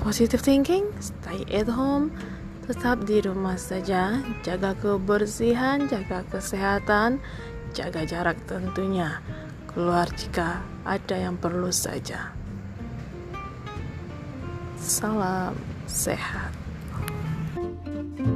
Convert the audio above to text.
Positive thinking, stay at home, tetap di rumah saja, jaga kebersihan, jaga kesehatan, jaga jarak tentunya. Keluar jika ada yang perlu saja. Salam sehat.